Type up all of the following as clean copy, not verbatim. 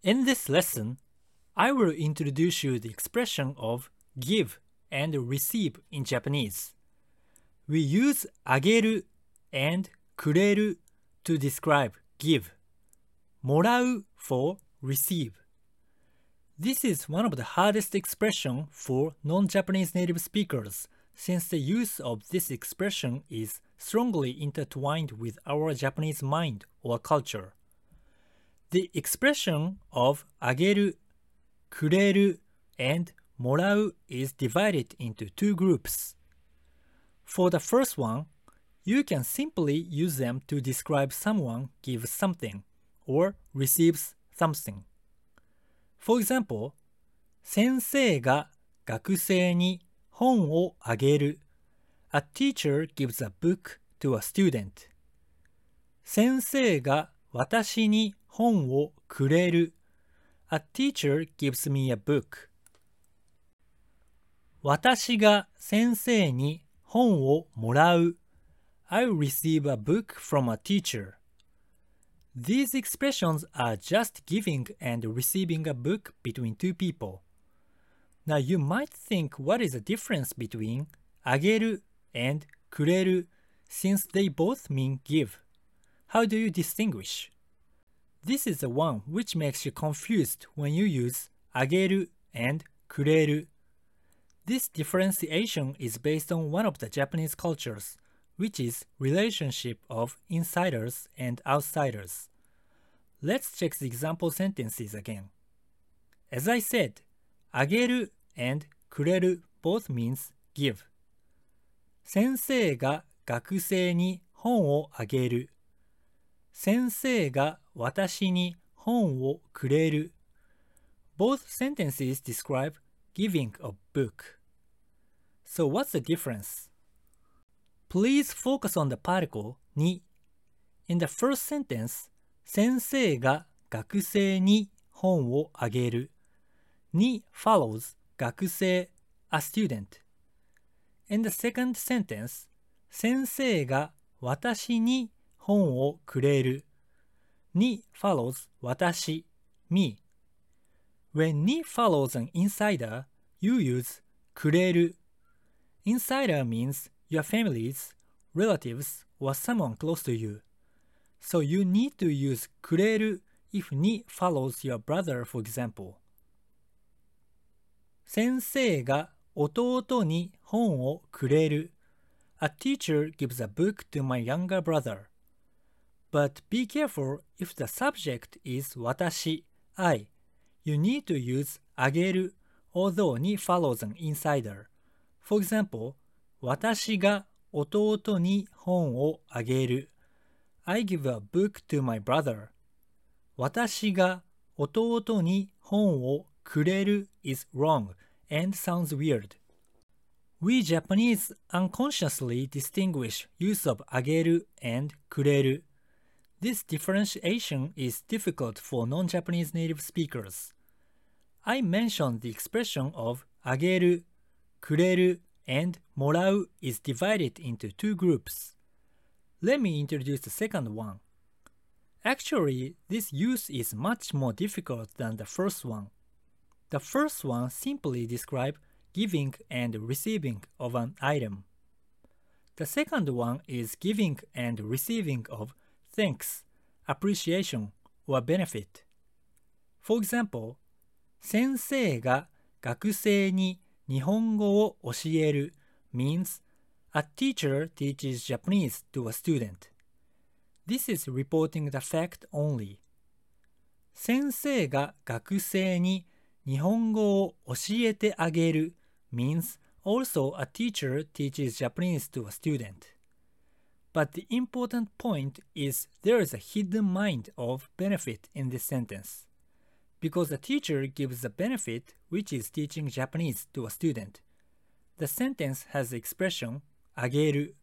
In this lesson, I will introduce you the expression of give and receive in Japanese. We use あげる and くれる to describe give, もらう for receive. This is one of the hardest expression for non-Japanese native speakers since the use of this expression is strongly intertwined with our Japanese mind or culture. The expression of あげる、くれる and もらう is divided into two groups. For the first one, you can simply use them to describe someone gives something or receives something. For example, 先生が学生に本をあげる。A teacher gives a book to a student. 先生が私に本をくれる。A teacher gives me a book. 私が先生に本をもらう。I receive a book from a teacher. These expressions are just giving and receiving a book between two people. Now you might think what is the difference between あげる and くれる since they both mean give. How do you distinguish? This is the one which makes you confused when you use あげる and くれる. This differentiation is based on one of the Japanese cultures, which is relationship of insiders and outsiders. Let's check the example sentences again. As I said, あげる and くれる both means give. 先生が学生に本をあげる。先生が私に本をくれる。Both sentences describe giving a book. So what's the difference? Please focus on the particle に. In the first sentence, 先生が学生に本をあげる。に follows 学生 a student. In the second sentence, 先生が私に本をくれる。に follows 私 me. When に follows an insider, you use くれる. Insider means your families, relatives, or someone close to you. So you need to use くれる if に follows your brother, for example. 先生が弟に本をくれる. A teacher gives a book to my younger brother. But be careful if the subject is 私, I. You need to use あげる although に follows an insider. For example, 私が弟に本をあげる. I give a book to my brother. 私が弟に本をくれる is wrong and sounds weird. We Japanese unconsciously distinguish use of あげる and くれる. This differentiation is difficult for non-Japanese native speakers. I mentioned the expression of あげる, くれる, and もらう is divided into two groups. Let me introduce the second one. Actually, this use is much more difficult than the first one. The first one simply describes giving and receiving of an item. The second one is giving and receiving of thanks, appreciation, or benefit. For example, 先生が学生に日本語を教える means a teacher teaches Japanese to a student. This is reporting the fact only. 先生が学生に日本語を教えてあげる means also a teacher teaches Japanese to a student. But the important point is there is a hidden mind of benefit in this sentence. Because the teacher gives the benefit which is teaching Japanese to a student. The sentence has the expression あげる.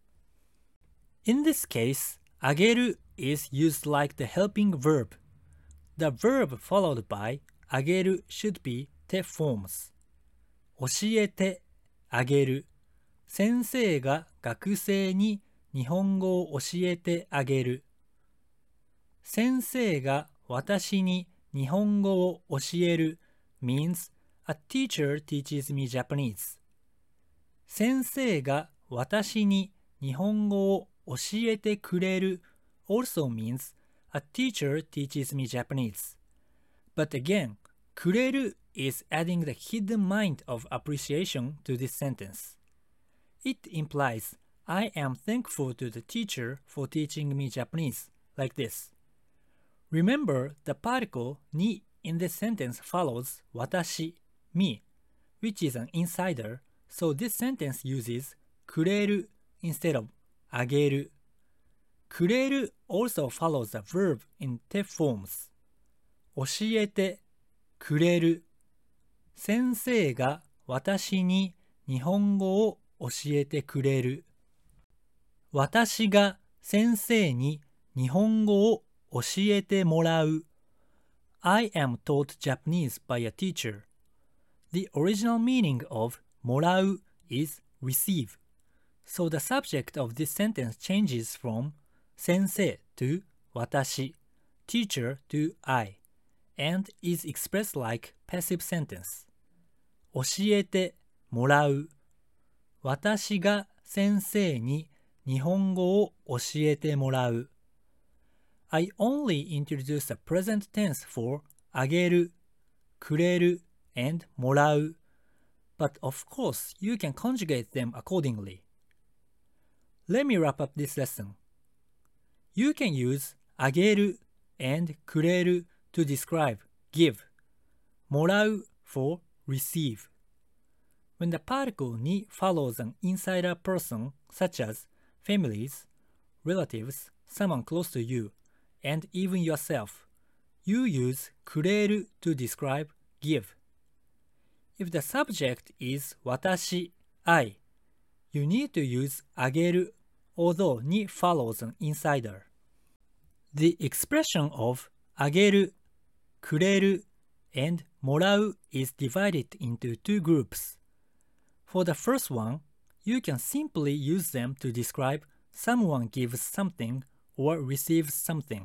In this case, あげる is used like the helping verb. The verb followed by あげる should be te forms. 教えてあげる。先生が学生に日本語を教えてあげる。先生が私に日本語を教える means a teacher teaches me Japanese. 先生が私に日本語を教えてくれる also means a teacher teaches me Japanese. But again, くれる is adding the hidden mind of appreciation to this sentence. It implies I am thankful to the teacher for teaching me Japanese, like this. Remember, the particle に in this sentence follows 私, me, which is an insider, so this sentence uses くれる instead of あげる。くれる also follows the verb in te forms. 教えてくれる。先生が私に日本語を教えてくれる。私が先生に日本語を教えてもらう。I am taught Japanese by a teacher. The original meaning of もらう is receive. So the subject of this sentence changes from 先生 to 私, teacher to I, and is expressed like passive sentence. 教えてもらう。私が先生に日本語を教えてもらう。I only introduced the present tense for あげる、くれる and もらう。But of course, you can conjugate them accordingly. Let me wrap up this lesson. You can use あげる and くれる to describe give, もらう for receive. When the particle に follows an insider person such as families, relatives, someone close to you, and even yourself, you use くれる to describe give. If the subject is 私 I, you need to use あげる although に follows an insider. The expression of あげる、くれる and もらう is divided into two groups. For the first one, you can simply use them to describe someone gives something or receives something.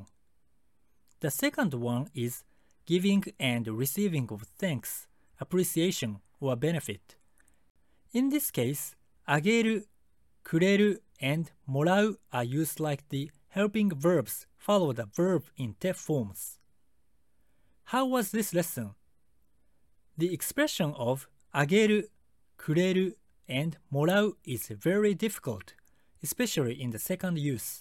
The second one is giving and receiving of thanks, appreciation, or benefit. In this case, あげる、くれる and もらう are used like the helping verbs follow the verb in te forms. How was this lesson? The expression of あげる、くれる and もらう is very difficult, especially in the second use.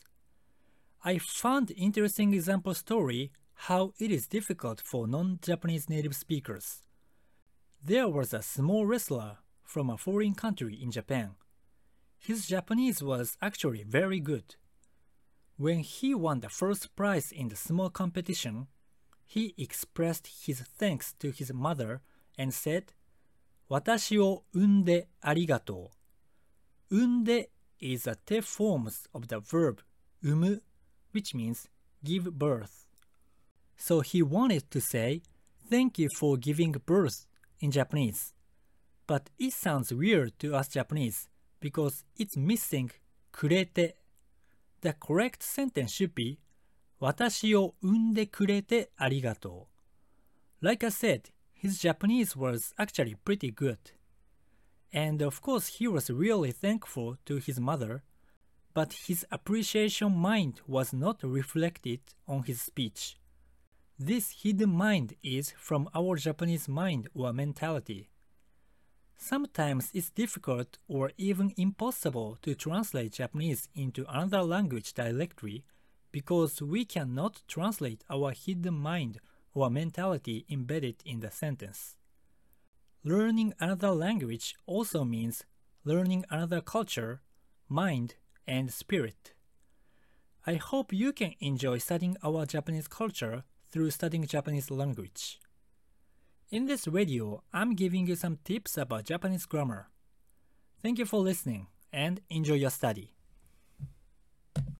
I found interesting example story how it is difficult for non-Japanese native speakers. There was a small wrestler from a foreign country in Japan. His Japanese was actually very good. When he won the first prize in the small competition, he expressed his thanks to his mother and said, 私を産んでありがとう。産んで is a te forms of the verb 産む which means give birth. So he wanted to say, thank you for giving birth in Japanese. But it sounds weird to us Japanese because it's missing くれて. The correct sentence should be 私を産んでくれてありがとう. Like I said, his Japanese was actually pretty good. And of course he was really thankful to his mother, but his appreciation mind was not reflected on his speech. This hidden mind is from our Japanese mind or mentality. Sometimes it's difficult or even impossible to translate Japanese into another language directly because we cannot translate our hidden mind or mentality embedded in the sentence. Learning another language also means learning another culture, mind, and spirit. I hope you can enjoy studying our Japanese culture through studying Japanese language. In this video, I'm giving you some tips about Japanese grammar. Thank you for listening and enjoy your study.